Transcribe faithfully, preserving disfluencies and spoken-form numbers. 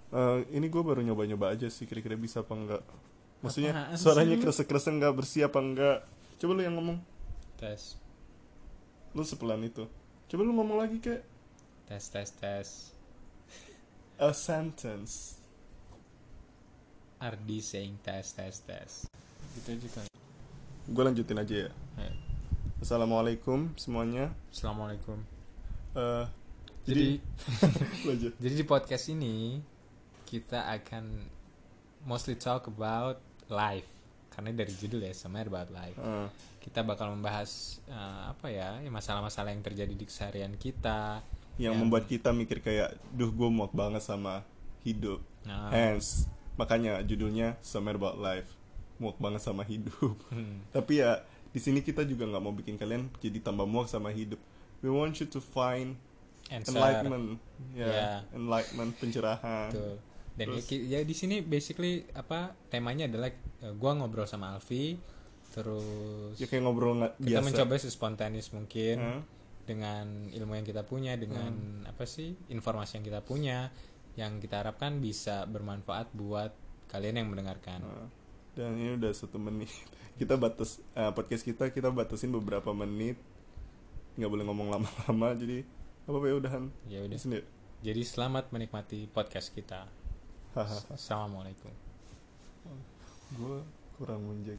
Eh, ini gue baru nyoba-nyoba aja sih, kira-kira bisa apa enggak. Maksudnya Apaan suaranya sih lu? kerasa-kerasa nggak bersih apa enggak. Coba lu yang ngomong. Tes, Lu sepelan itu. Coba lu ngomong lagi kayak tes, tes, tes. a sentence. Ardi saying tes, tes, tes. Gitu aja kan. Gue lanjutin aja ya. Ayo. Assalamualaikum semuanya. Assalamualaikum. Eh, Jadi, jadi lanjut. jadi di podcast ini kita akan mostly talk about life. Karena dari judul ya, somewhere about life. Eh, Kita bakal membahas eh, apa ya, ya, masalah-masalah yang terjadi di keseharian kita. yang Yang- membuat kita mikir kayak, duh gue muak banget sama hidup. Nah, Hence, makanya judulnya Somewhere About Life. Muak banget sama hidup. hmm, Tapi ya di sini kita juga nggak mau bikin kalian jadi tambah muak sama hidup. We want you to find answer. enlightenment, ya, Yeah. enlightenment, pencerahan. Betul. Dan ya, Terus- ki- ya di sini basically apa temanya adalah eh, gua ngobrol sama Alfi, terus Ya kayak ngobrol nggak kita biasa. mencoba sespontanis mungkin Hah? dengan ilmu yang kita punya, dengan apa sih informasi yang kita punya, yang kita harapkan bisa bermanfaat buat kalian yang mendengarkan. Nah, dan ini udah satu menit. Kita batas eh, podcast kita kita batasin beberapa menit. Nggak boleh ngomong lama-lama. Jadi apa ya udahan. Ya udah. Sini. Jadi selamat menikmati podcast kita. Hahaha. Assalamualaikum. Gue kurang menjaga.